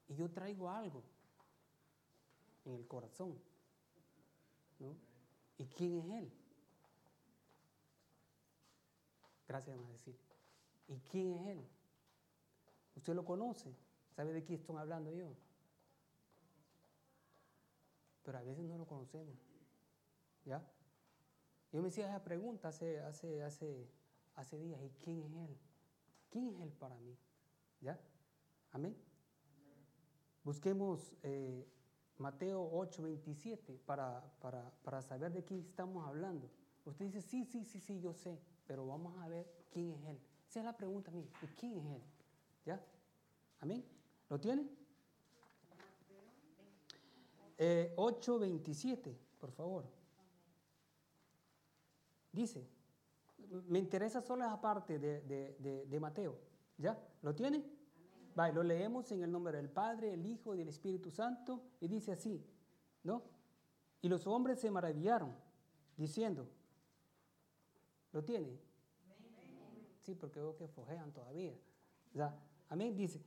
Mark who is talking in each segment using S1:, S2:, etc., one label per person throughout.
S1: y yo traigo algo en el corazón, ¿no? ¿Y quién es Él? Gracias, vamos a decir. ¿Y quién es Él? ¿Usted lo conoce? ¿Sabe de quién estoy hablando yo? Pero a veces no lo conocemos, ¿ya? Yo me hacía esa pregunta hace días, ¿y quién es Él? ¿Quién es Él para mí? ¿Ya? Amén. Busquemos Mateo 8:27 para saber de quién estamos hablando. Usted dice, sí, yo sé, pero vamos a ver quién es Él. Esa es la pregunta mía, ¿y quién es Él? ¿Ya? Amén. ¿Lo tiene? 8:27, por favor. Dice, me interesa solo esa parte de Mateo. ¿Ya? ¿Lo tiene? Vale, lo leemos en el nombre del Padre, el Hijo y del Espíritu Santo, y dice así, ¿no? Y los hombres se maravillaron, diciendo, ¿lo tiene? Sí, porque veo que fojean todavía. ¿Ya? Amén, dice.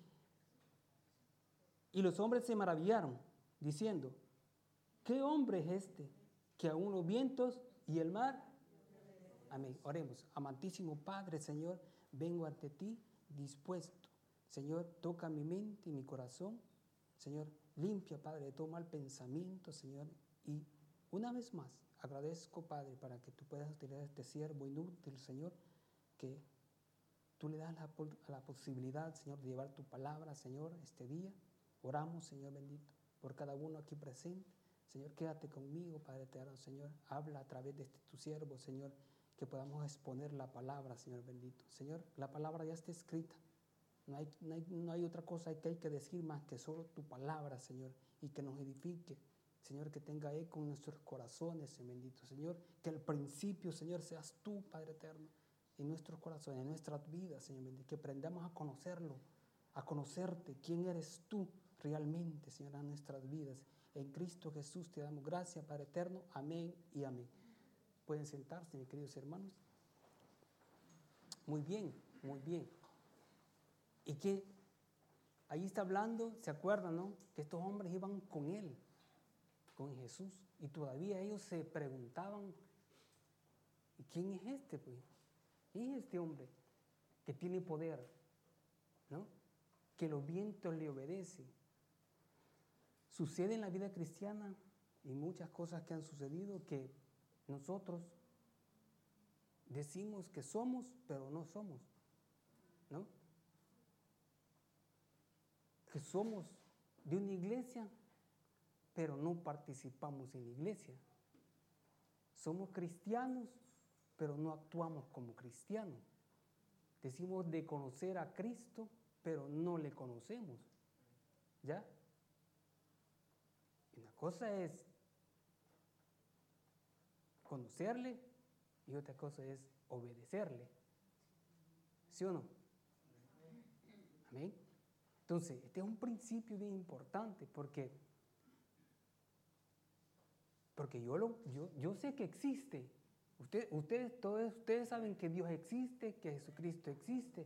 S1: Y los hombres se maravillaron, diciendo, ¿qué hombre es este que aún los vientos y el mar? Amén. Oremos. Amantísimo Padre, Señor, vengo ante ti dispuesto. Señor, toca mi mente y mi corazón. Señor, limpia, Padre, de todo mal pensamiento, Señor. Y una vez más, agradezco, Padre, para que tú puedas utilizar a este siervo inútil, Señor, que tú le das la posibilidad, Señor, de llevar tu palabra, Señor, este día. Oramos, Señor bendito, por cada uno aquí presente. Señor, quédate conmigo, Padre eterno, Señor. Habla a través de tu siervo, Señor, que podamos exponer la palabra, Señor bendito. Señor, la palabra ya está escrita. No hay otra cosa que hay que decir más que solo tu palabra, Señor, y que nos edifique. Señor, que tenga eco en nuestros corazones, Señor bendito. Señor, que al principio, Señor, seas tú, Padre eterno, en nuestros corazones, en nuestras vidas, Señor bendito. Que aprendamos a conocerlo, a conocerte, quién eres tú realmente, Señor, en nuestras vidas. En Cristo Jesús te damos gracias, Padre eterno. Amén y amén. Pueden sentarse, mis queridos hermanos. Muy bien, muy bien. Y que ahí está hablando, ¿se acuerdan, no? Que estos hombres iban con Él, con Jesús. Y todavía ellos se preguntaban, ¿y quién es este, pues? ¿Quién es este hombre que tiene poder, ¿no? Que los vientos le obedecen. Sucede en la vida cristiana y muchas cosas que han sucedido que nosotros decimos que somos, pero no somos, ¿no? Que somos de una iglesia, pero no participamos en la iglesia. Somos cristianos, pero no actuamos como cristianos. Decimos de conocer a Cristo, pero no le conocemos. ¿Ya? Una cosa es conocerle y otra cosa es obedecerle. ¿Sí o no? Amén. Entonces, este es un principio bien importante porque yo sé que existe. Todos ustedes saben que Dios existe, que Jesucristo existe.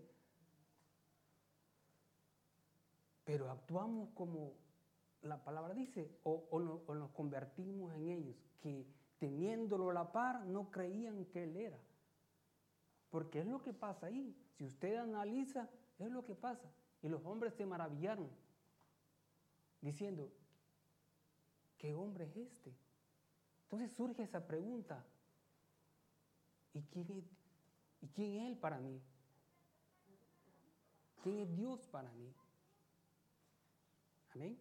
S1: Pero actuamos como la palabra dice, o nos convertimos en ellos, que teniéndolo a la par no creían que Él era. Porque es lo que pasa ahí. Si usted analiza, es lo que pasa. Y los hombres se maravillaron, diciendo, ¿qué hombre es este? Entonces surge esa pregunta, ¿y quién es Él para mí? ¿Quién es Dios para mí? Amén.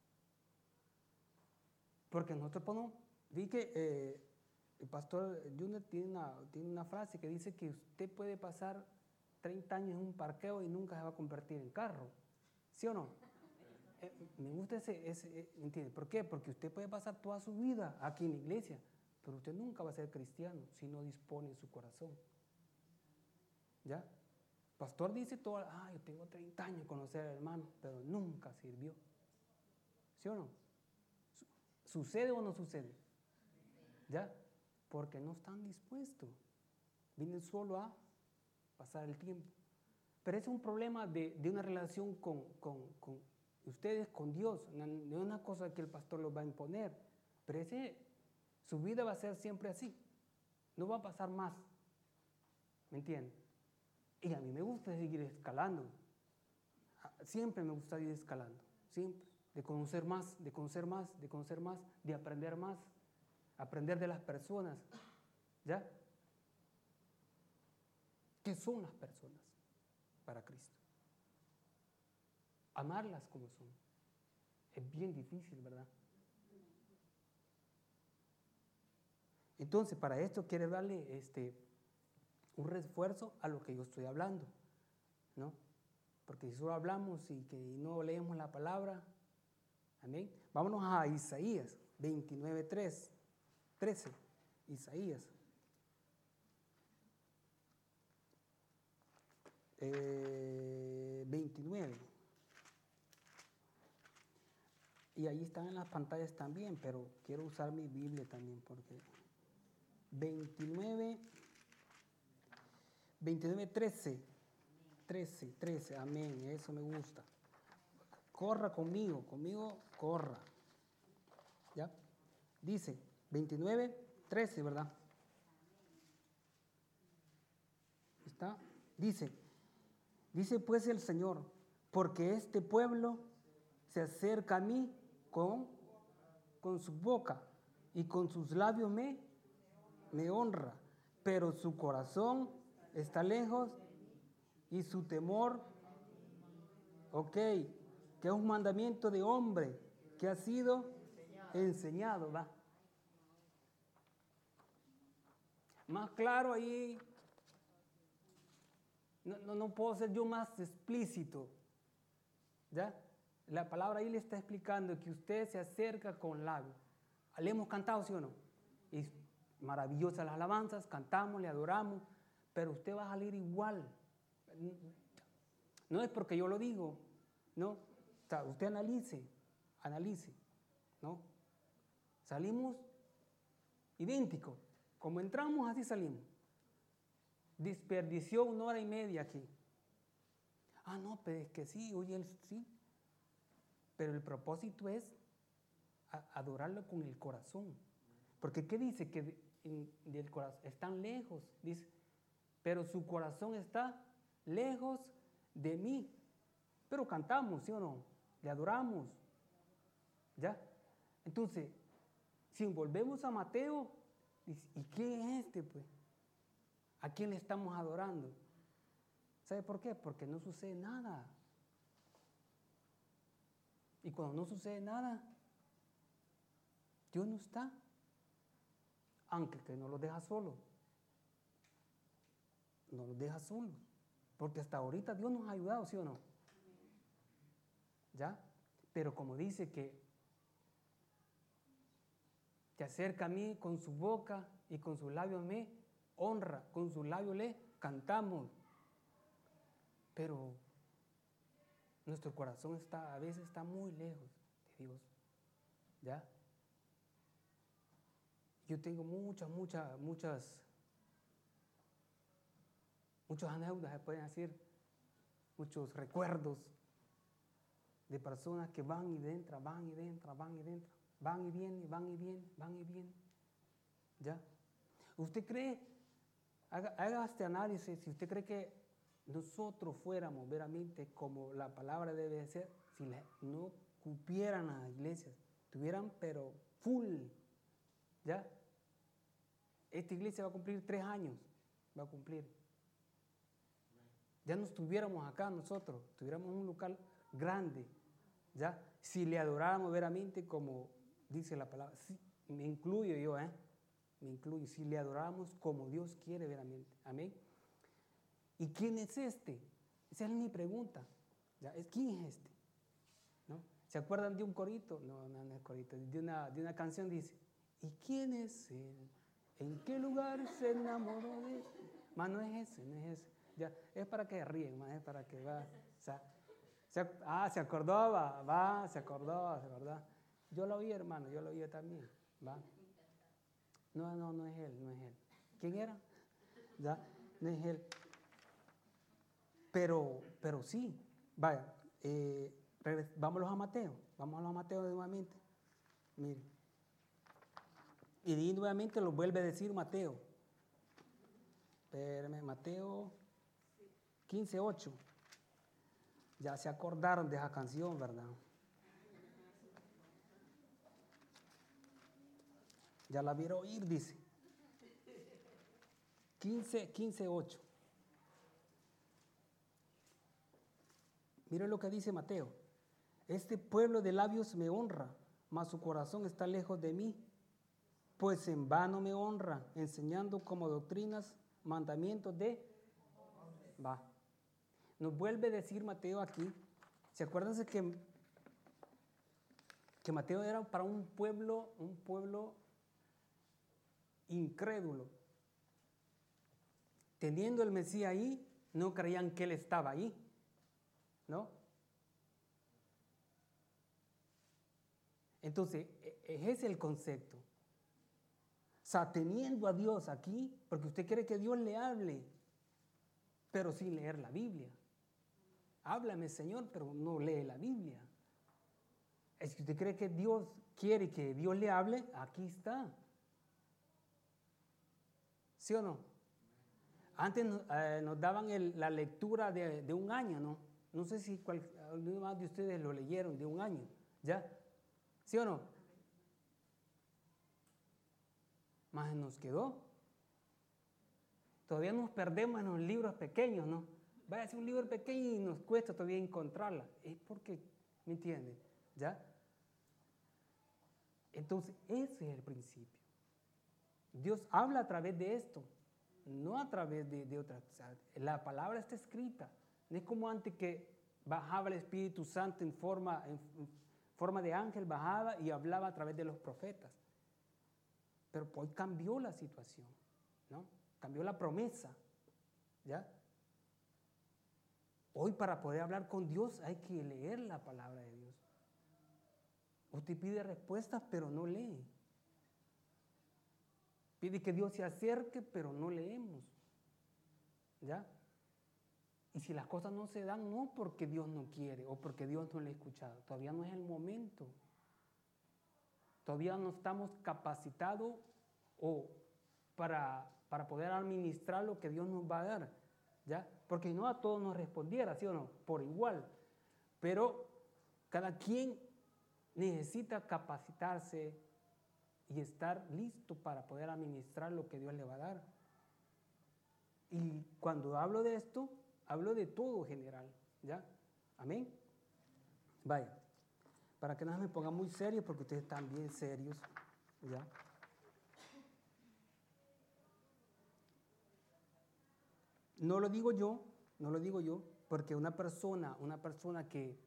S1: Porque nosotros podemos, vi que el pastor Junior tiene una frase que dice que usted puede pasar 30 años en un parqueo y nunca se va a convertir en carro. ¿Sí o no? Me gusta ¿entiende? ¿Por qué? Porque usted puede pasar toda su vida aquí en la iglesia, pero usted nunca va a ser cristiano si no dispone en su corazón. ¿Ya? El pastor dice yo tengo 30 años de conocer al hermano, pero nunca sirvió. ¿Sí o no? ¿Sucede o no sucede? ¿Ya? Porque no están dispuestos. Vienen solo a pasar el tiempo. Pero es un problema de una relación con ustedes con Dios. No es una cosa que el pastor los va a imponer, pero su vida va a ser siempre así. No va a pasar más. ¿Me entienden? Y a mí me gusta seguir escalando. Siempre me gusta ir escalando. Siempre. De conocer más, de conocer más, de conocer más, de aprender más. Aprender de las personas. ¿Ya? ¿Qué son las personas para Cristo? Amarlas como son. Es bien difícil, ¿verdad? Entonces, para esto quiere darle un refuerzo a lo que yo estoy hablando, ¿no? Porque si solo hablamos y que no leemos la palabra, amén. Vámonos a Isaías 29:13. Isaías. 29. Y ahí están en las pantallas también, pero quiero usar mi Biblia también porque 29:13. 13, amén, eso me gusta. Corra conmigo, corra. ¿Ya? Dice 29:13, ¿verdad? ¿Está? Dice pues el Señor, porque este pueblo se acerca a mí con su boca y con sus labios me honra, pero su corazón está lejos y su temor, que es un mandamiento de hombre que ha sido enseñado, ¿va? Más claro ahí, no puedo ser yo más explícito, ¿ya? La palabra ahí le está explicando que usted se acerca con labios. ¿Le hemos cantado, sí o no? Y maravillosas las alabanzas, cantamos, le adoramos, pero usted va a salir igual. No es porque yo lo digo, ¿no? O sea, usted analice, ¿no? Salimos idénticos. Como entramos, así salimos. Desperdició 1 hora y media aquí. Ah, no, pero es que sí, oye, sí. Pero el propósito es adorarlo con el corazón. Porque ¿qué dice? Que del corazón están lejos, dice, pero su corazón está lejos de mí. Pero cantamos, ¿sí o no? Le adoramos. ¿Ya? Entonces, si volvemos a Mateo, dice, ¿y quién es este, pues? ¿A quién le estamos adorando? ¿Sabe por qué? Porque no sucede nada. Y cuando no sucede nada, Dios no está. Aunque que no los deja solos. No los deja solos. Porque hasta ahorita Dios nos ha ayudado, ¿sí o no? ¿Ya? Pero como dice que se acerca a mí con su boca y con sus labios me honra, con sus labios le cantamos. Pero nuestro corazón a veces está muy lejos de Dios. ¿Ya? Yo tengo muchas anécdotas, se pueden decir, muchos recuerdos de personas que van y entran, van y entran, van y entran, van y vienen, van y vienen, van y vienen. ¿Ya? ¿Usted cree, haga este análisis, si usted cree que nosotros fuéramos veramente como la palabra debe ser, si no cupieran las iglesias, tuvieran pero full, ¿ya? Esta iglesia va a cumplir 3 años, va a cumplir. Ya no estuviéramos acá nosotros, tuviéramos un local grande, ¿ya? Si le adoráramos veramente como dice la palabra, sí, me incluyo yo, me incluyo, si le adoráramos como Dios quiere veramente, amén. ¿Y quién es este? Esa es mi pregunta, ¿ya? ¿Quién es este? ¿No? ¿Se acuerdan de un corito? No es corito, de una canción dice, ¿y quién es él? ¿En qué lugar se enamoró de él? Más no es ese. Ya, es para que ríen, más es para que va. O sea, se acordó, se acordó. Yo lo oí, hermano, yo lo oí también, va. No es él. ¿Quién era? ¿Ya? No es él. Pero sí, vaya, vámonos a Mateo. Vámonos a Mateo nuevamente. Mire. Y nuevamente lo vuelve a decir Mateo. Espérame, Mateo 15:8. Ya se acordaron de esa canción, ¿verdad? Ya la vieron oír, dice. 15:8. Miren lo que dice Mateo. Este pueblo de labios me honra, mas su corazón está lejos de mí. Pues en vano me honra, enseñando como doctrinas, mandamientos de... Va. Nos vuelve a decir Mateo aquí. ¿Se acuerdan que Mateo era para un pueblo incrédulo? Teniendo el Mesías ahí, no creían que él estaba ahí, ¿no? Entonces, ese es el concepto. O sea, teniendo a Dios aquí, porque usted quiere que Dios le hable, pero sin leer la Biblia. Háblame, Señor, pero no lee la Biblia. Es que usted cree que Dios quiere que Dios le hable, aquí está. ¿Sí o no? Antes nos daban la lectura de un año, ¿no? No sé si alguno más de ustedes lo leyeron, de un año, ¿ya? ¿Sí o no? Más nos quedó. Todavía nos perdemos en los libros pequeños, ¿no? Vaya a ser un libro pequeño y nos cuesta todavía encontrarla. Es porque, ¿me entiende? ¿Ya? Entonces, ese es el principio. Dios habla a través de esto, no a través de otras. O sea, la palabra está escrita. No es como antes que bajaba el Espíritu Santo en forma de ángel, bajaba y hablaba a través de los profetas. Pero hoy cambió la situación, ¿no? Cambió la promesa, ¿ya? Hoy para poder hablar con Dios hay que leer la palabra de Dios. Usted pide respuestas, pero no lee. Pide que Dios se acerque, pero no leemos, ¿ya? Y si las cosas no se dan, no porque Dios no quiere o porque Dios no le ha escuchado. Todavía no es el momento. Todavía no estamos capacitados para poder administrar lo que Dios nos va a dar, ¿ya? Porque no a todos nos respondiera, ¿sí o no? Por igual. Pero cada quien necesita capacitarse y estar listo para poder administrar lo que Dios le va a dar. Y cuando hablo de esto, hablo de todo general, ¿ya? Amén. Vaya, para que no me pongan muy serios, porque ustedes están bien serios, ¿ya? No lo digo yo, porque una persona que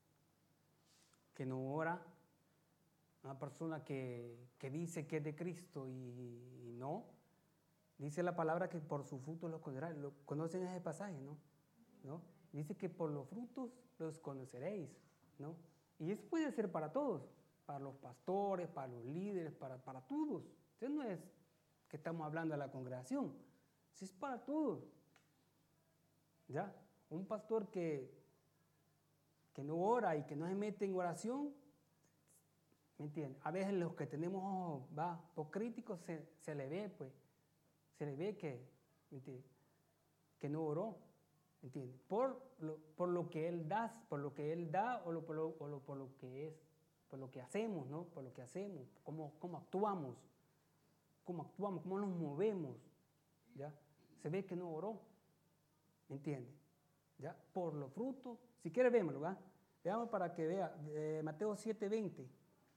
S1: no ora, una persona que dice que es de Cristo y no, dice la palabra que por sus frutos los conoceréis. ¿Conocen ese pasaje, no? ¿No? Dice que por los frutos los conoceréis, ¿no? Y eso puede ser para todos, para los pastores, para los líderes, para todos. Eso no es que estamos hablando de la congregación, eso es para todos. ¿Ya? Un pastor que no ora y que no se mete en oración, ¿me entiendes? A veces los que tenemos ojos por críticos se le ve, pues, se le ve que, ¿me entiendes? Que no oró, ¿me entiendes? Por lo que él da, por lo que él da o por lo que es, por lo que hacemos, ¿no? Por lo que hacemos, cómo actuamos, cómo nos movemos, ¿ya? Se ve que no oró. ¿Me entiende? ¿Ya? Por los frutos. Si quiere, vémoslo, ¿va? Veamos para que vea. Mateo 7:20.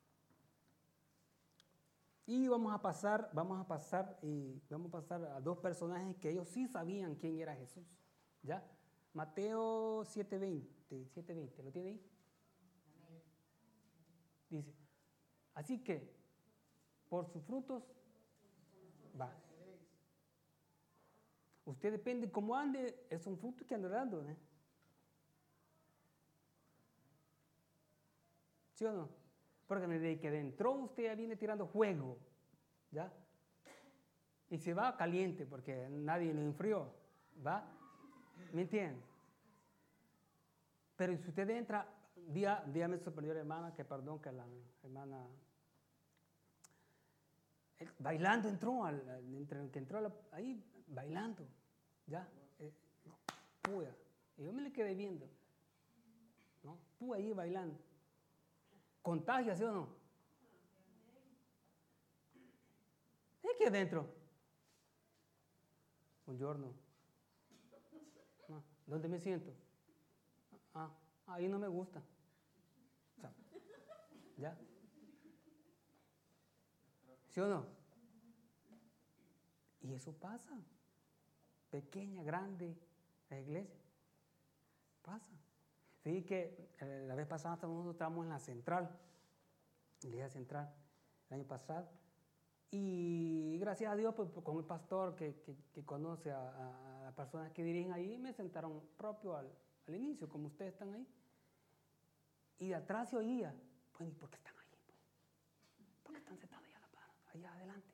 S1: Y vamos a pasar a dos personajes que ellos sí sabían quién era Jesús. ¿Ya? Mateo 7:20. ¿Lo tiene ahí? Dice, así que, por sus frutos, va. Usted depende cómo ande, es un fruto que anda dando, ¿eh? ¿Sí o no? Porque desde que entró usted ya viene tirando fuego, ¿ya? Y se va caliente porque nadie lo enfrió, ¿va? ¿Me entiende? Pero si usted entra día me sorprendió la hermana, que la hermana bailando entró, ahí bailando, ya, puya. Y yo me le quedé viendo, ¿no? Puya ahí bailando. ¿Contagia, sí o no? Es que adentro. Buongiorno. No, ¿dónde me siento? Ahí no me gusta. O sea, ¿ya? ¿Sí o no? Y eso pasa. Pequeña, grande, la iglesia. Pasa. Fíjate que la vez pasada nosotros estábamos en la central, en la iglesia central, el año pasado. Y gracias a Dios, pues, con el pastor que conoce a las personas que dirigen ahí, me sentaron propio al inicio, como ustedes están ahí. Y de atrás se oía, pues, ¿y por qué están ahí? Pues? ¿Por qué están sentados allá adelante?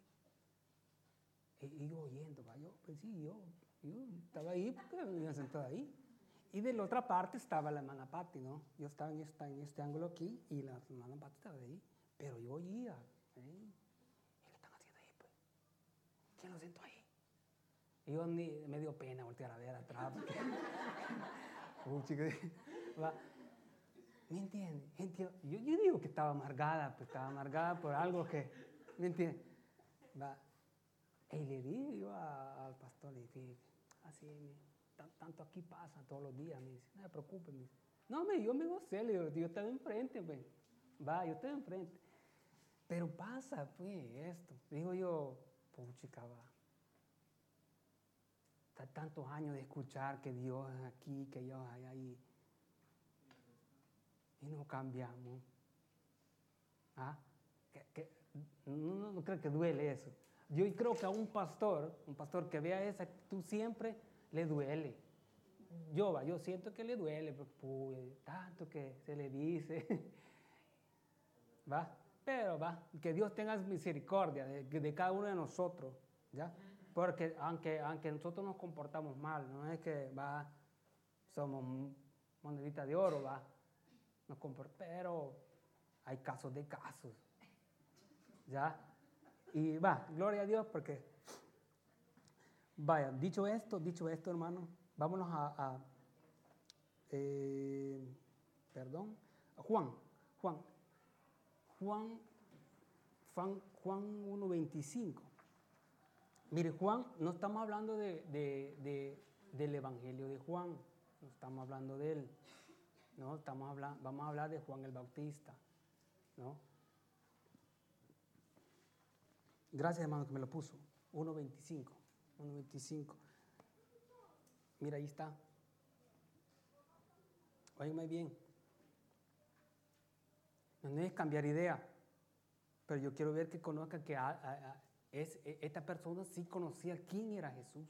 S1: Y yo oyendo, pues sí, yo estaba ahí porque me habían sentado ahí. Y de la otra parte estaba la hermana Patti, ¿no? Yo estaba en este ángulo aquí y la hermana Patti estaba ahí. Pero yo oía, ¿y qué están haciendo ahí, pues? ¿Quién lo sentó ahí? Y yo me dio pena voltear a ver atrás. ¿Me entiendes? Yo digo que estaba amargada, pues estaba amargada por algo que, ¿me entiendes? Y le dije yo al pastor, le dije, así, tanto aquí pasa todos los días, me dice, no se preocupe, me dice. No, yo me gocé, le digo, yo estaba enfrente, pues, yo estaba enfrente. Pero pasa, pues, esto. Digo yo, puchica, tantos años de escuchar que Dios es aquí, que Dios es ahí, y no cambiamos. No creo que duele eso. Yo creo que a un pastor que vea esa actitud siempre le duele. Yo siento que le duele, porque tanto que se le dice, pero que Dios tenga misericordia de cada uno de nosotros, ¿ya? Porque aunque nosotros nos comportamos mal, no es que somos monedita de oro, pero hay casos de casos, ¿ya? Y gloria a Dios, porque dicho esto, hermano, vámonos a Juan 1:25. Mire, Juan, no estamos hablando del Evangelio de Juan, no estamos hablando de él, no, vamos a hablar de Juan el Bautista, ¿no? Gracias, hermano, que me lo puso. 1:25. Mira, ahí está. Óigame bien. No es cambiar idea, pero yo quiero ver que conozcan que esta persona sí conocía quién era Jesús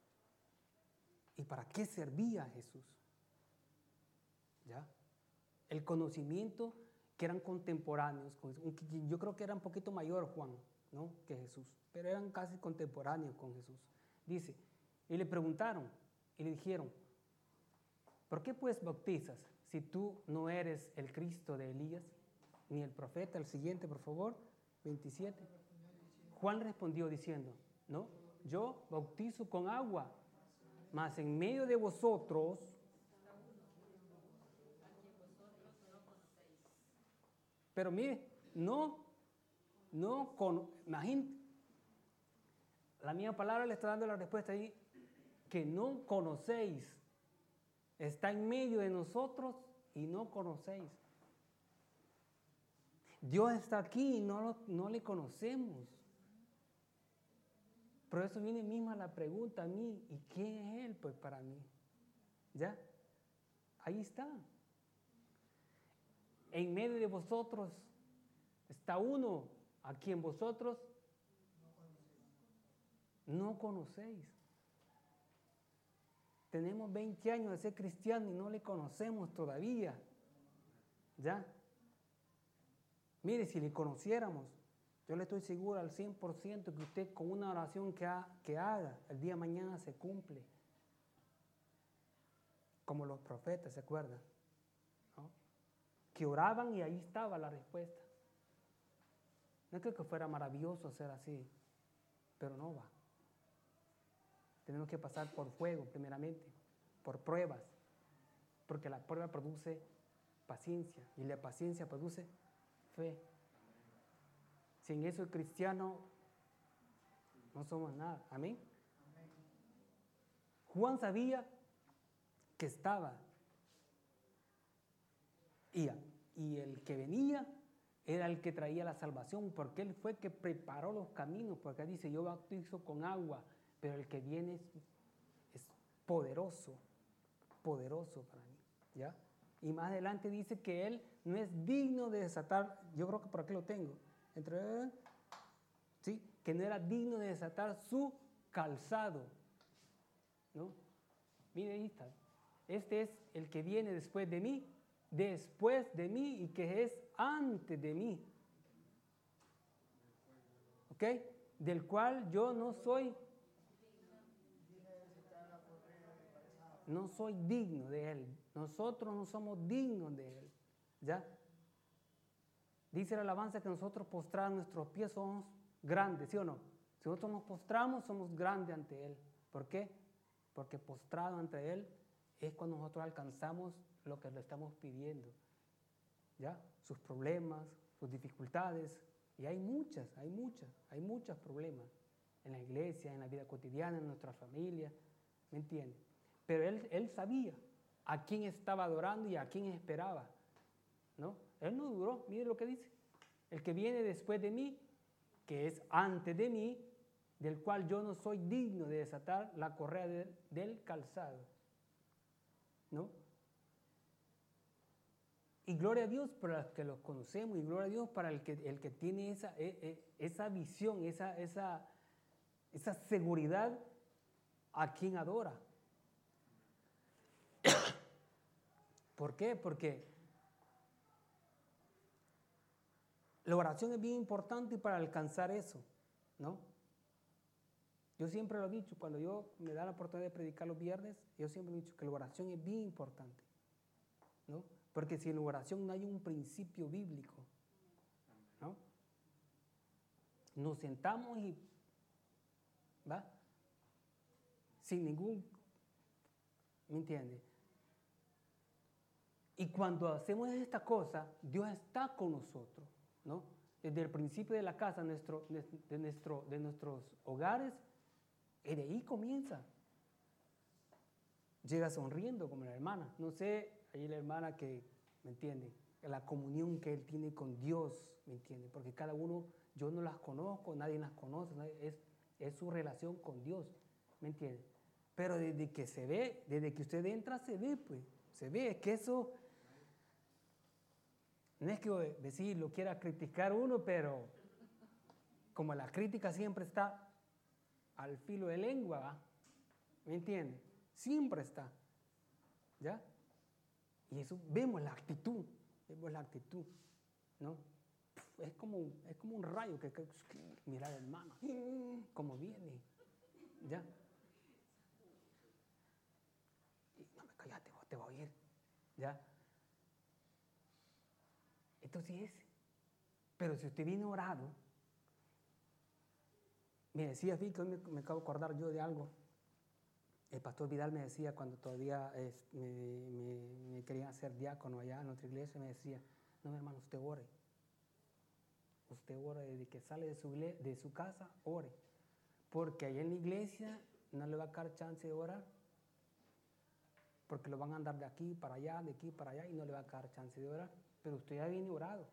S1: y para qué servía Jesús. ¿Ya? El conocimiento que eran contemporáneos, yo creo que era un poquito mayor Juan, ¿no?, que Jesús, pero eran casi contemporáneos con Jesús. Dice, y le preguntaron y le dijeron, ¿por qué pues bautizas si tú no eres el Cristo de Elías, ni el profeta? El siguiente, por favor, 27. Juan respondió diciendo, no, yo bautizo con agua, mas en medio de vosotros, pero mire, imagínate, la misma palabra le está dando la respuesta ahí, que no conocéis, está en medio de nosotros y no conocéis. Dios está aquí y no le conocemos. Por eso viene misma la pregunta a mí, ¿y quién es Él? Pues para mí. ¿Ya? Ahí está. En medio de vosotros está uno a quien vosotros no conocéis. Tenemos 20 años de ser cristianos y no le conocemos todavía. ¿Ya? Mire, si le conociéramos, yo le estoy seguro al 100% que usted con una oración que haga, el día de mañana se cumple. Como los profetas, ¿se acuerdan? ¿No? que oraban y ahí estaba la respuesta. No creo que fuera maravilloso ser así, pero no va. Tenemos que pasar por fuego primeramente, por pruebas, porque la prueba produce paciencia y la paciencia produce fe. Sin eso el cristiano no somos nada. Amén. Juan sabía que estaba y el que venía era el que traía la salvación, porque él fue el que preparó los caminos, porque dice, yo bautizo con agua, pero el que viene es poderoso, poderoso para mí, ¿ya? Y más adelante dice que él no es digno de desatar, yo creo que por aquí lo tengo, ¿sí? Que no era digno de desatar su calzado, ¿no? Mire, ahí está. Este es el que viene después de mí y que es antes de mí. ¿Ok? Del cual yo no soy digno de él. Nosotros no somos dignos de él. ¿Ya? Dice la alabanza que nosotros postrados nuestros pies somos grandes, ¿sí o no? Si nosotros nos postramos, somos grandes ante él. ¿Por qué? Porque postrado ante él es cuando nosotros alcanzamos lo que le estamos pidiendo. ¿Ya? Sus problemas, sus dificultades, y hay muchos problemas en la iglesia, en la vida cotidiana, en nuestra familia, ¿me entiende? Pero él sabía a quién estaba adorando y a quién esperaba, ¿no? Él no dudó, mire lo que dice, el que viene después de mí, que es antes de mí, del cual yo no soy digno de desatar la correa del calzado, ¿no? Y gloria a Dios para los que los conocemos, y gloria a Dios para el que tiene esa visión, esa seguridad a quien adora. ¿Por qué? Porque la oración es bien importante para alcanzar eso, ¿no? Yo siempre lo he dicho, cuando yo me da la oportunidad de predicar los viernes, yo siempre he dicho que la oración es bien importante, ¿no? Porque si en la oración no hay un principio bíblico, ¿no? Nos sentamos y, ¿va? Sin ningún, ¿me entiende? Y cuando hacemos esta cosa, Dios está con nosotros, ¿no? Desde el principio de la casa, de nuestros hogares, y de ahí comienza. Llega sonriendo como la hermana. No sé, ahí la hermana que, ¿me entiende? La comunión que él tiene con Dios, ¿me entiende? Porque cada uno, yo no las conozco, nadie las conoce, es su relación con Dios, ¿me entiende? Pero desde que se ve, desde que usted entra, se ve, pues, se ve, es que eso, no es que decir, lo quiera criticar uno, pero como la crítica siempre está al filo de lengua, ¿va? ¿Me entiende? Siempre está, ¿ya? Y eso, vemos la actitud, ¿no? Es como un rayo que mira la hermana, como viene, ¿ya? Y no me callate, te va a oír, ¿ya? Entonces, pero si usted viene orado, me decía, que hoy me acabo de acordar yo de algo. El pastor Vidal me decía cuando todavía me querían hacer diácono allá en otra iglesia, me decía, no, mi hermano, usted ore. Usted ore desde que sale de su casa, ore. Porque allá en la iglesia no le va a dar chance de orar. Porque lo van a andar de aquí para allá, de aquí para allá, y no le va a dar chance de orar. Pero usted ya viene orado.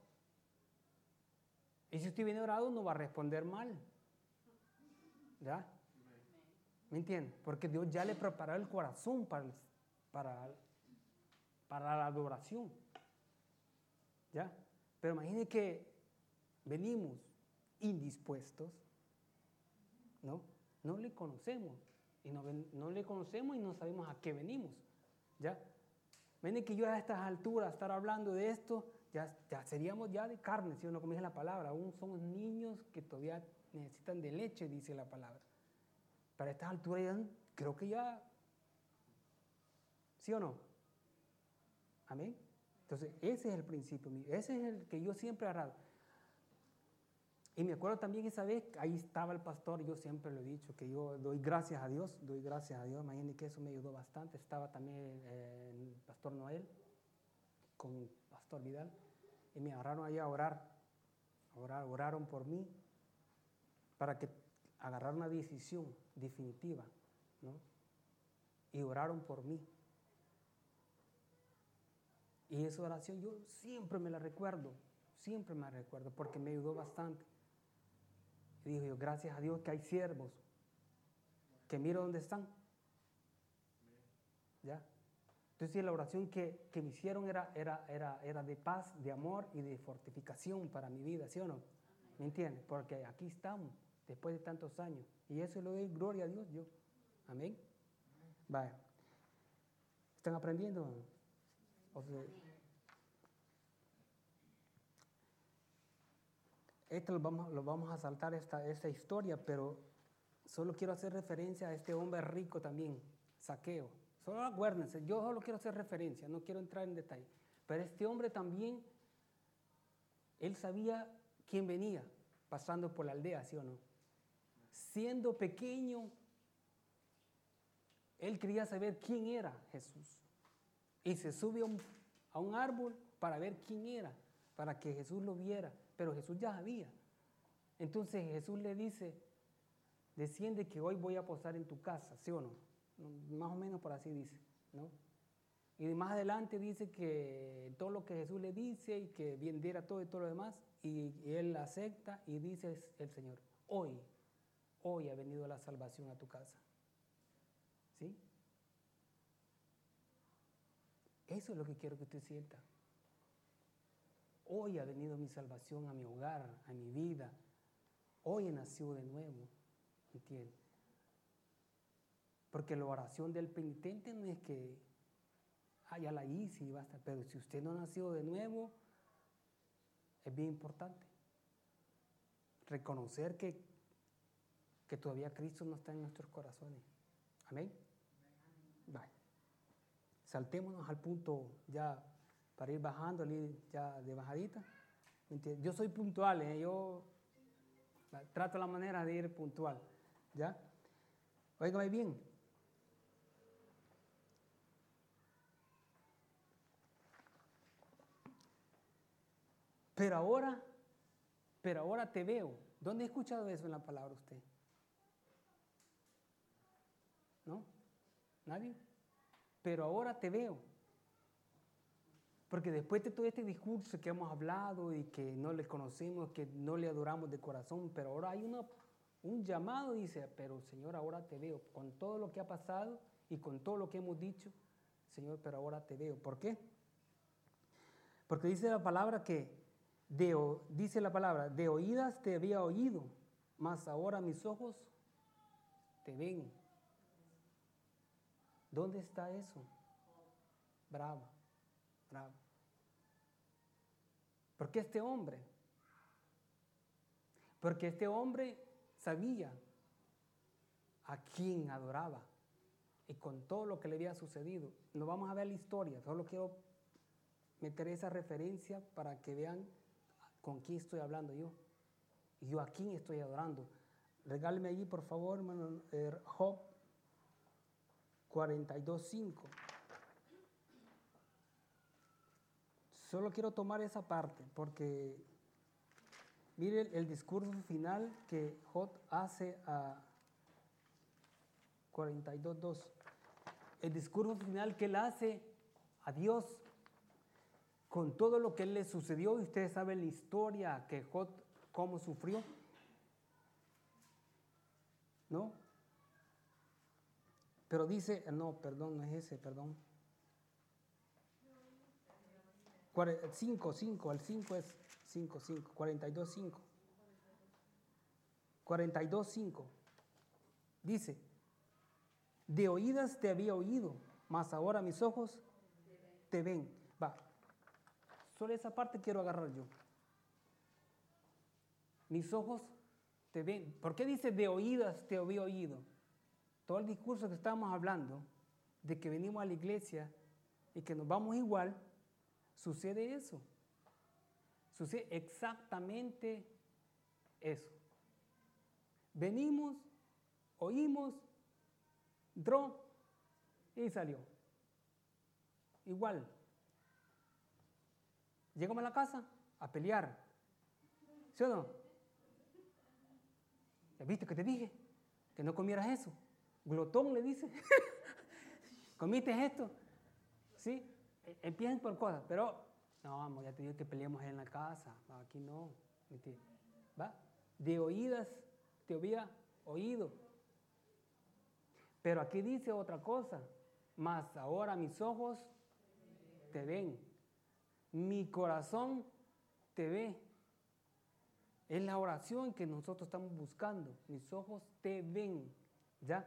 S1: Y si usted viene orado, no va a responder mal. ¿Ya? ¿Me entiende? Porque Dios ya le preparó el corazón para la adoración. ¿Ya? Pero imagine que venimos indispuestos, ¿no? No le conocemos. Y no le conocemos y no sabemos a qué venimos. ¿Ya? Imagine que yo a estas alturas estar hablando de esto, ya seríamos ya de carne, si uno como dice la palabra. Aún somos niños que todavía necesitan de leche, dice la palabra. Para estas alturas ya, creo que ya, ¿sí o no? Amén. Entonces, ese es el principio, ese es el que yo siempre he agarrado. Y me acuerdo también esa vez, ahí estaba el pastor, yo siempre lo he dicho, que yo doy gracias a Dios, imagínense que eso me ayudó bastante. Estaba también el pastor Noel con el pastor Vidal, y me agarraron ahí a oraron por mí, para que agarrara una decisión definitiva, ¿no? Y oraron por mí. Y esa oración yo siempre me la recuerdo, porque me ayudó bastante. Y digo yo, gracias a Dios que hay siervos, que miro dónde están. ¿Ya? Entonces la oración que me hicieron era de paz, de amor y de fortificación para mi vida, ¿sí o no? ¿Me entiendes? Porque aquí estamos, después de tantos años. Y eso le doy gloria a Dios yo. Amén. Vaya. ¿Están aprendiendo? O sea, lo vamos a saltar esta historia, pero solo quiero hacer referencia a este hombre rico también, Zaqueo. Solo acuérdense, yo solo quiero hacer referencia, no quiero entrar en detalle. Pero este hombre también, él sabía quién venía pasando por la aldea, ¿sí o no? Siendo pequeño, él quería saber quién era Jesús. Y se sube a un árbol para ver quién era, para que Jesús lo viera. Pero Jesús ya sabía. Entonces Jesús le dice, desciende que hoy voy a posar en tu casa, ¿sí o no? Más o menos por así dice, ¿no? Y más adelante dice que todo lo que Jesús le dice y que vendiera todo y todo lo demás, y él acepta y dice el Señor, hoy ha venido la salvación a tu casa. ¿Sí? Eso es lo que quiero que usted sienta. Hoy ha venido mi salvación a mi hogar, a mi vida. Hoy he nacido de nuevo. ¿Entiende? Porque la oración del penitente no es que, ya la hice y basta. Pero si usted no ha nacido de nuevo, es bien importante reconocer que todavía Cristo no está en nuestros corazones. Amén. Vale. Saltémonos al punto ya para ir bajando, ya de bajadita. ¿Entiendes? Yo soy puntual, yo trato la manera de ir puntual. ¿Ya? Óigame bien. Pero ahora te veo. ¿Dónde ha escuchado eso en la palabra usted? ¿No? ¿Nadie? Pero ahora te veo. Porque después de todo este discurso que hemos hablado y que no le conocemos, que no le adoramos de corazón, pero ahora hay un llamado, dice, pero Señor, ahora te veo. Con todo lo que ha pasado y con todo lo que hemos dicho, Señor, pero ahora te veo. ¿Por qué? Porque dice la palabra de oídas te había oído, mas ahora mis ojos te ven. ¿Dónde está eso? Bravo. Porque este hombre sabía a quién adoraba y con todo lo que le había sucedido. No vamos a ver la historia, solo quiero meter esa referencia para que vean con quién estoy hablando yo. Y yo a quién estoy adorando. Regáleme allí, por favor, hermano, Job 42:5. Solo quiero tomar esa parte porque mire el discurso final que Job hace a 42:2. El discurso final que él hace a Dios con todo lo que le sucedió. Y ustedes saben la historia que Job cómo sufrió, ¿no? Pero dice, no es ese, perdón. 5, el 5 es 5, 42:5. 42:5. Dice, de oídas te había oído, mas ahora mis ojos te ven. Va, solo esa parte quiero agarrar yo. Mis ojos te ven. ¿Por qué dice de oídas te había oído? Todo el discurso que estábamos hablando, de que venimos a la iglesia y que nos vamos igual, sucede eso. Sucede exactamente eso. Venimos, oímos, entró y salió. Igual. Llegamos a la casa a pelear. ¿Sí o no? ¿Ya viste que te dije? Que no comieras eso. Glotón le dice. ¿Comiste esto? ¿Sí? Empiezan por cosas, pero no, vamos, ya te digo que peleemos en la casa. Aquí no. ¿Va? De oídas te había oído. Pero aquí dice otra cosa. Mas ahora mis ojos te ven. Mi corazón te ve. Es la oración que nosotros estamos buscando. Mis ojos te ven. ¿Ya?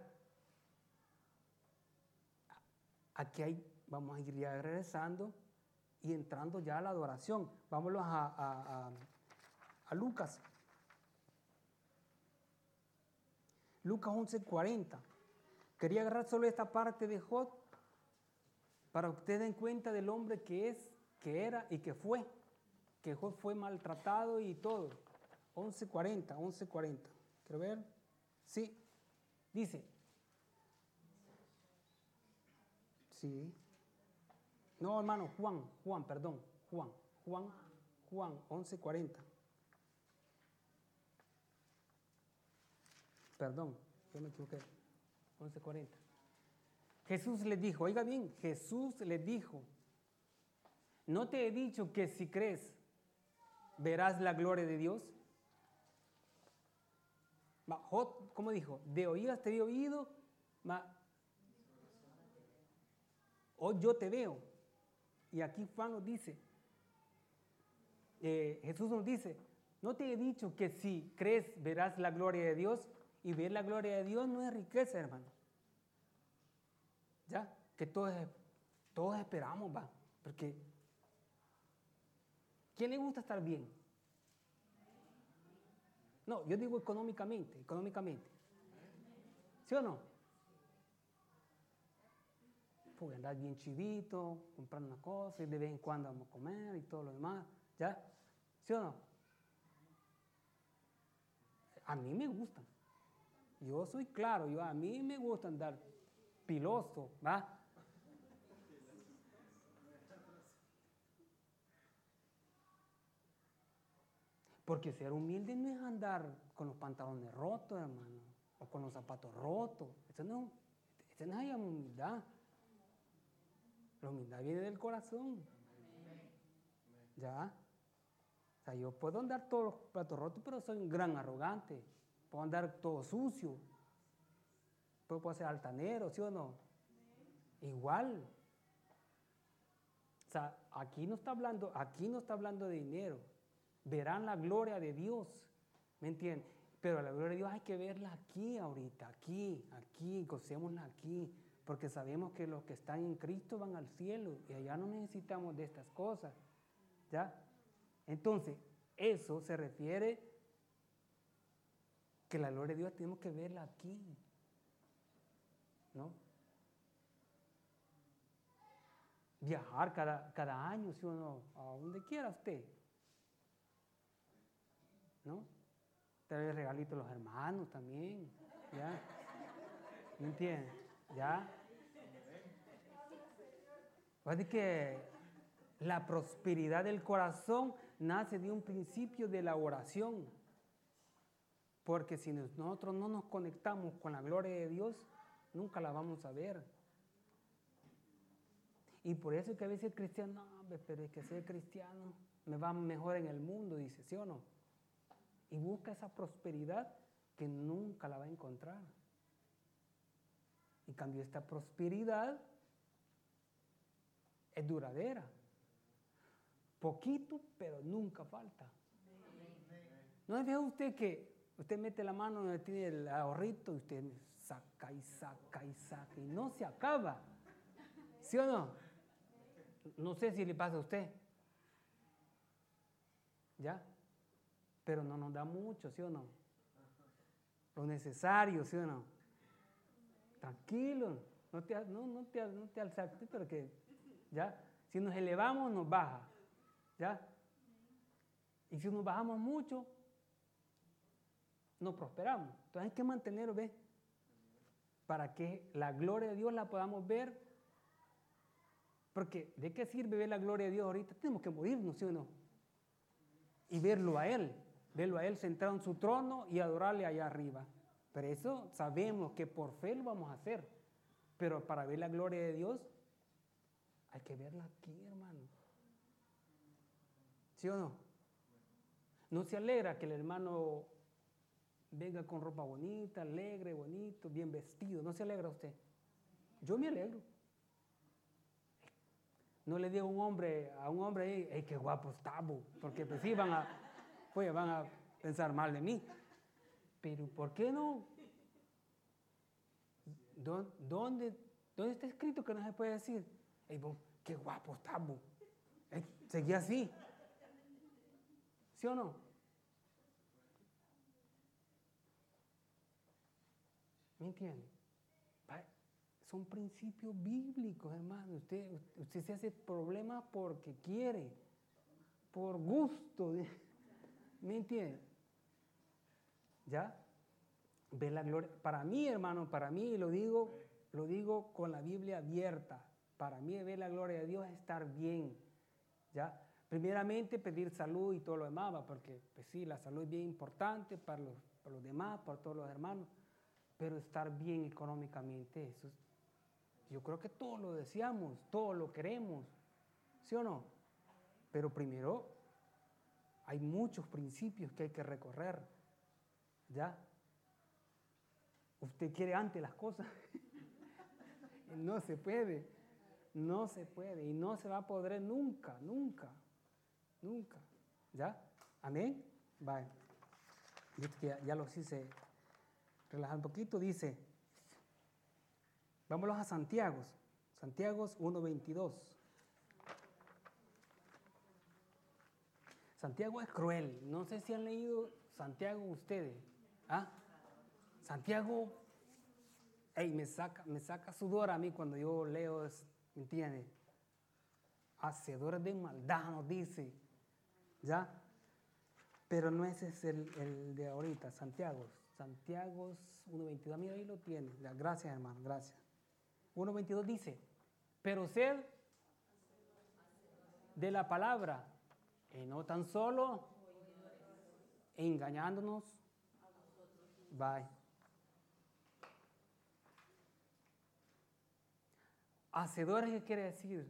S1: Aquí vamos a ir ya regresando y entrando ya a la adoración. Vámonos a Lucas. Lucas 11:40. Quería agarrar solo esta parte de Job para que ustedes den cuenta del hombre que es, que era y que fue. Que Job fue maltratado y todo. 11:40. ¿Quiero ver? Sí. Dice. Sí. No, hermano, Juan, 11:40. Perdón, yo me equivoqué. 11:40. Jesús les dijo, oiga bien, Jesús les dijo, ¿no te he dicho que si crees verás la gloria de Dios? Job, ¿cómo dijo? De oídas te he oído, hoy yo te veo. Y aquí Juan nos dice, Jesús nos dice, ¿no te he dicho que si crees verás la gloria de Dios? Y ver la gloria de Dios no es riqueza, hermano. Ya, que todos esperamos, va. Porque, ¿quién le gusta estar bien? No, yo digo económicamente. ¿Sí o no? Porque andar bien chivito, comprando una cosa y de vez en cuando vamos a comer y todo lo demás. ¿Ya? ¿Sí o no? A mí me gustan. Yo soy claro, a mí me gusta andar piloso, ¿va? Porque ser humilde no es andar con los pantalones rotos, hermano, o con los zapatos rotos. Eso no es humildad. La humildad viene del corazón. ¿Ya? O sea, yo puedo andar todos los platos rotos, pero soy un gran arrogante. Puedo andar todo sucio. Puedo ser altanero, ¿sí o no? Igual. O sea, aquí no está hablando de dinero. Verán la gloria de Dios. ¿Me entienden? Pero la gloria de Dios hay que verla aquí ahorita, aquí, gocémosla aquí. Porque sabemos que los que están en Cristo van al cielo y allá no necesitamos de estas cosas. ¿Ya? Entonces, eso se refiere que la gloria de Dios tenemos que verla aquí, ¿no? Viajar cada año, si uno, a donde quiera usted, ¿no? Traer regalitos a los hermanos también, ¿ya? ¿Me entiende? ¿Ya? Así que la prosperidad del corazón nace de un principio de la oración. Porque si nosotros no nos conectamos con la gloria de Dios, nunca la vamos a ver. Y por eso es que a veces el cristiano, no, pero es que ser cristiano me va mejor en el mundo, dice, ¿sí o no? Y busca esa prosperidad que nunca la va a encontrar. En cambio, esta prosperidad es duradera. Poquito, pero nunca falta. ¿No ve usted que usted mete la mano donde tiene el ahorrito y usted saca y no se acaba? ¿Sí o no? No sé si le pasa a usted. ¿Ya? Pero no nos da mucho, ¿sí o no? Lo necesario, ¿sí o no? Tranquilo, no te alzaste, pero que, ¿ya? Si nos elevamos, nos baja. ¿Ya? Y si nos bajamos mucho, no prosperamos. Entonces hay que mantenerlo, ¿ves? Para que la gloria de Dios la podamos ver. Porque ¿de qué sirve ver la gloria de Dios ahorita? Tenemos que morirnos, ¿sí o no? Y verlo a Él sentado en su trono y adorarle allá arriba. Pero eso sabemos que por fe lo vamos a hacer. Pero para ver la gloria de Dios, hay que verla aquí, hermano. ¿Sí o no? No se alegra que el hermano venga con ropa bonita, alegre, bonito, bien vestido. ¿No se alegra usted? Yo me alegro. No le digo a un hombre ahí, hey, qué guapo está, porque pues sí van a pensar mal de mí. Pero ¿por qué no? ¿Dónde está escrito que no se puede decir? Hey, qué guapo está, seguí así. ¿Sí o no? ¿Me entiende? Son principios bíblicos, hermano. Usted se hace problemas porque quiere, por gusto. ¿Me entiende? ¿Ya? Ve la gloria. Para mí, hermano, lo digo con la Biblia abierta. Para mí, ver la gloria de Dios es estar bien. ¿Ya? Primeramente, pedir salud y todo lo demás, porque, pues sí, la salud es bien importante para los demás, para todos los hermanos. Pero estar bien económicamente, eso yo creo que todos lo deseamos, todos lo queremos, ¿sí o no? Pero primero hay muchos principios que hay que recorrer, ¿ya? Usted quiere antes las cosas, no se puede, y no se va a poder nunca, ¿ya? ¿Amén? Vale. Ya los hice relajar un poquito, dice, vámonos a Santiago 1:22. Santiago es cruel. No sé si han leído Santiago ustedes. ¿Ah? Santiago, me saca sudor a mí cuando yo leo, ¿me entiendes? Hacedores de maldad nos dice. ¿Ya? Pero no ese es el de ahorita, Santiago 1:22. Mira, ahí lo tiene. Gracias, hermano, gracias. 1:22 dice, pero sed de la palabra, y no tan solo engañándonos. Bye. Hacedores, ¿qué quiere decir?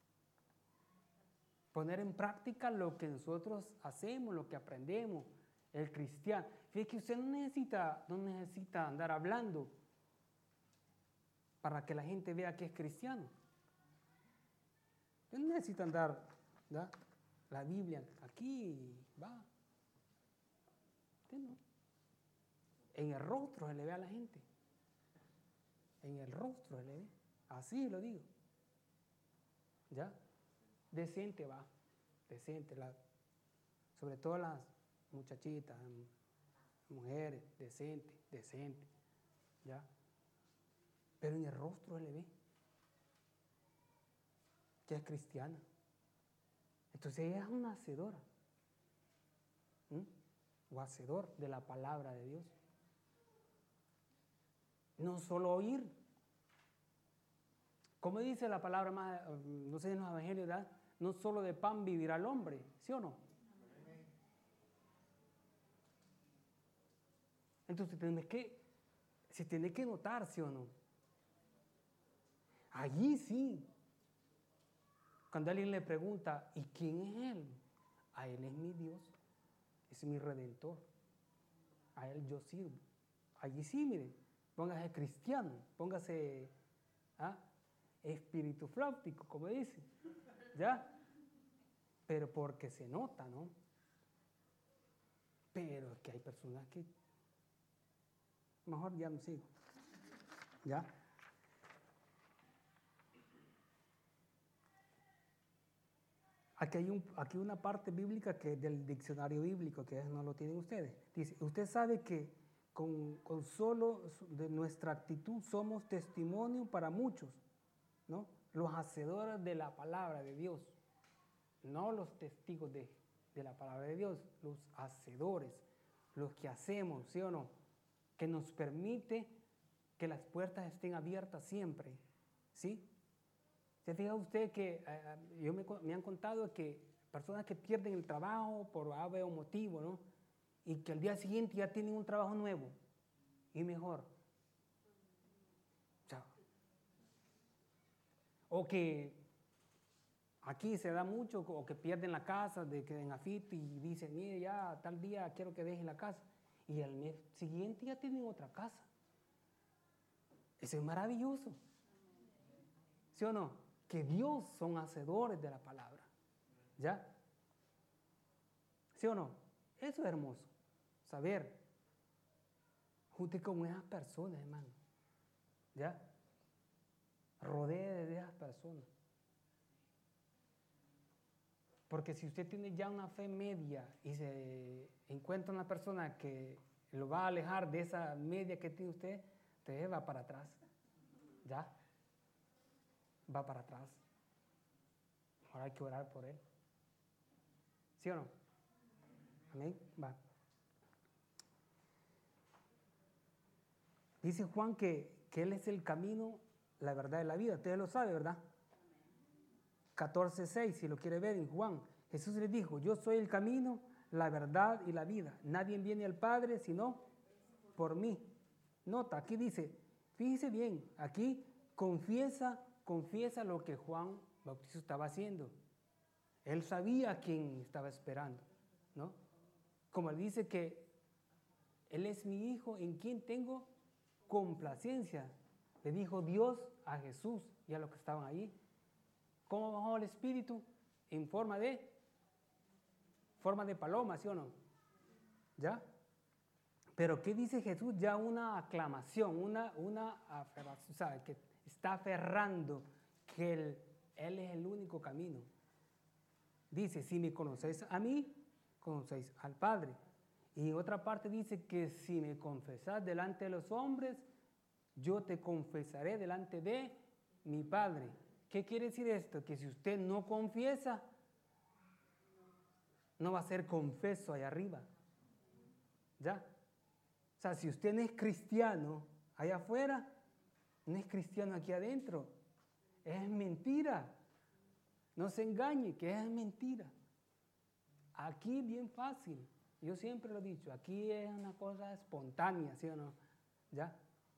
S1: Poner en práctica lo que nosotros hacemos, lo que aprendemos, el cristiano. Fíjate que usted no necesita andar hablando para que la gente vea que es cristiano. Usted no necesita andar, ¿verdad? La Biblia aquí, va. Usted no. En el rostro se le ve a la gente. En el rostro se le ve. Así lo digo. ¿Ya? Decente va. Decente. Sobre todo las muchachitas, mujeres, decente. ¿Ya? Pero en el rostro se le ve que es cristiana. Entonces ella es una hacedora. O hacedor de la palabra de Dios. No solo oír. Como dice la palabra más, no sé en los evangelios, ¿verdad? No solo de pan vivirá el hombre, ¿sí o no? Entonces se tiene que notar, ¿sí o no? Allí sí. Cuando alguien le pregunta, ¿y quién es Él? A Él es mi Dios, es mi Redentor. A Él yo sirvo. Allí sí, miren, póngase cristiano, póngase espíritu fláutico, como dice, ¿ya? Pero porque se nota, ¿no? Pero es que hay personas que mejor ya no sigo, ¿ya? Aquí hay una parte bíblica que es del diccionario bíblico, que no lo tienen ustedes. Dice, usted sabe que con solo de nuestra actitud somos testimonio para muchos, ¿no? los hacedores de la palabra de Dios, no los testigos de la palabra de Dios, los hacedores, los que hacemos, ¿sí o no? Que nos permite que las puertas estén abiertas siempre, ¿sí? ¿Se fija usted que me han contado que personas que pierden el trabajo por ave o motivo, ¿no? Y que al día siguiente ya tienen un trabajo nuevo y mejor. O que aquí se da mucho, o que pierden la casa, de que en afit y dicen, mire, ya tal día quiero que dejen la casa. Y al mes siguiente ya tienen otra casa. Eso es maravilloso. ¿Sí o no? Que Dios son hacedores de la palabra. ¿Ya? ¿Sí o no? Eso es hermoso. Saber. Junte con esas personas, hermano. ¿Ya? Rodee de esas personas. Porque si usted tiene ya una fe media y se encuentra una persona que lo va a alejar de esa media que tiene usted va para atrás. ¿Ya? Va para atrás. Ahora hay que orar por él. ¿Sí o no? Amén. Va. Dice Juan que Él es el camino, la verdad y la vida. Usted lo sabe, ¿verdad? 14:6, si lo quiere ver en Juan. Jesús le dijo, yo soy el camino, la verdad y la vida. Nadie viene al Padre sino por mí. Nota, aquí dice, fíjese bien, aquí confiesa lo que Juan Bautista estaba haciendo. Él sabía a quién estaba esperando, ¿no? Como él dice que Él es mi hijo en quien tengo complacencia. Le dijo Dios a Jesús y a los que estaban ahí. ¿Cómo bajó el Espíritu? En forma de paloma, ¿sí o no? ¿Ya? Pero ¿qué dice Jesús? Ya una aclamación, una aferración, ¿sabe? Que está aferrando que Él es el único camino. Dice, si me conocéis a mí, conocéis al Padre. Y en otra parte dice que si me confesás delante de los hombres, yo te confesaré delante de mi Padre. ¿Qué quiere decir esto? Que si usted no confiesa, no va a ser confeso allá arriba. ¿Ya? O sea, si usted no es cristiano allá afuera, no es cristiano aquí adentro. Es mentira. No se engañe, que es mentira. Aquí bien fácil. Yo siempre lo he dicho, aquí es una cosa espontánea, ¿sí o no? ¿Ya?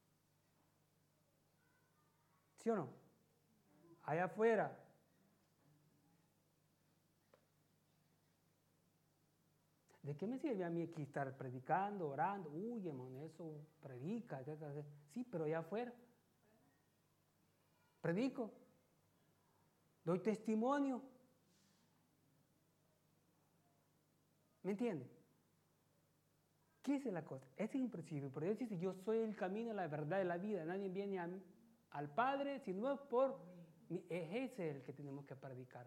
S1: ¿Sí o no? Allá afuera. ¿De qué me sirve a mí aquí estar predicando, orando? Uy, hermano, eso predica. Sí, pero allá afuera. Predico. Doy testimonio. ¿Me entiende? ¿Qué es la cosa? Ese es un principio. Pero Dios dice, yo soy el camino, la verdad y la vida. Nadie viene al Padre si no es por mí. Ese es el que tenemos que predicar.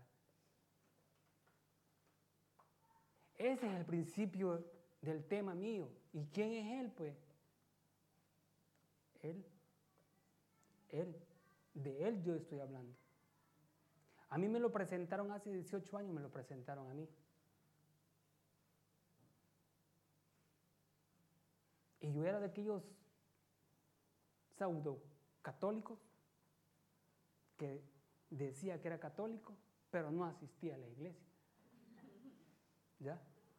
S1: Ese es el principio del tema mío. ¿Y quién es Él, pues? Él. De Él yo estoy hablando. A mí me lo presentaron hace 18 años, me lo presentaron a mí. Y yo era de aquellos pseudo católicos que decía que era católico, pero no asistía a la iglesia. ¿Ya?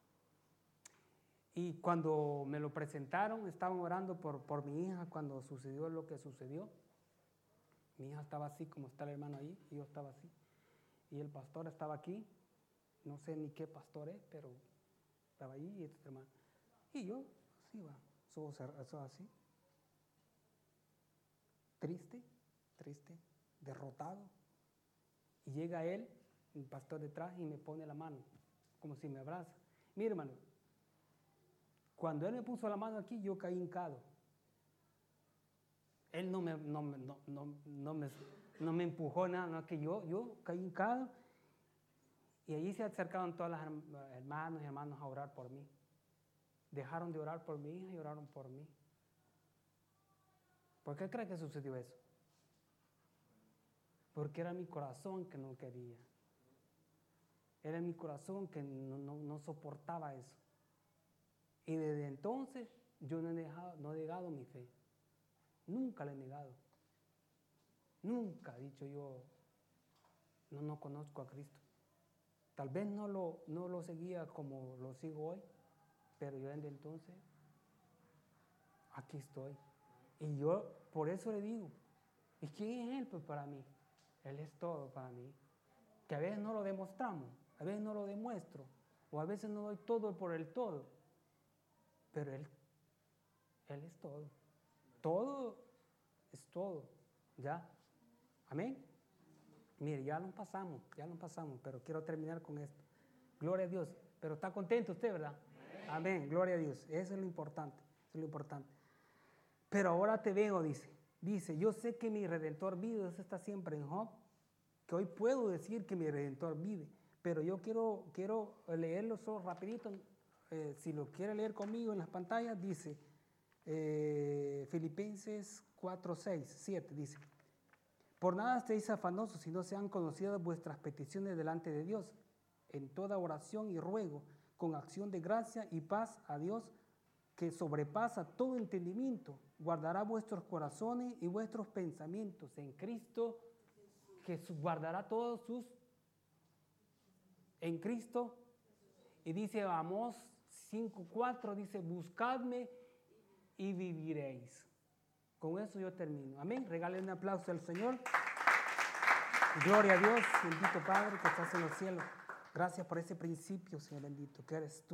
S1: Y cuando me lo presentaron, estaban orando por mi hija cuando sucedió lo que sucedió. Mi hija estaba así, como está el hermano ahí, y yo estaba así. Y el pastor estaba aquí, no sé ni qué pastor es, pero estaba ahí y este hermano. Y yo, así va, eso así. Triste, derrotado. Y llega él, el pastor detrás, y me pone la mano, como si me abraza. Mira, hermano, cuando él me puso la mano aquí, yo caí hincado. Él no me empujó nada, no, que yo caí hincado. Y allí se acercaron todas las hermanos y hermanos a orar por mí. Dejaron de orar por mi hija y oraron por mí. ¿Por qué cree que sucedió eso? porque era mi corazón que no quería. Era mi corazón que no soportaba eso. Y desde entonces yo no he negado mi fe. Nunca la he negado. Nunca he dicho yo, no conozco a Cristo. Tal vez no lo seguía como lo sigo hoy, pero yo desde entonces, aquí estoy. Y yo por eso le digo, ¿y quién es Él pues para mí? Él es todo para mí. Que a veces no lo demostramos, a veces no lo demuestro, o a veces no doy todo por el todo, pero Él es todo. Todo es todo, ¿ya? Amén. Mire, ya lo pasamos, pero quiero terminar con esto. Gloria a Dios. Pero está contento usted, ¿verdad? Amén. Gloria a Dios. Eso es lo importante. Pero ahora te veo, dice, yo sé que mi Redentor vive. Eso está siempre en Job. Que hoy puedo decir que mi Redentor vive. Pero yo quiero leerlo solo rapidito. Si lo quiere leer conmigo en las pantallas, dice Filipenses 4, 6, 7, dice. Por nada estéis afanosos, si no sean conocidas vuestras peticiones delante de Dios, en toda oración y ruego, con acción de gracia y paz a Dios, que sobrepasa todo entendimiento, guardará vuestros corazones y vuestros pensamientos en Cristo Jesús. Guardará todos en Cristo. Y dice Amós 5:4, dice, buscadme y viviréis. Con eso yo termino. Amén. Regalen un aplauso al Señor. Gloria a Dios, bendito Padre que estás en los cielos. Gracias por ese principio, Señor bendito, que eres tú.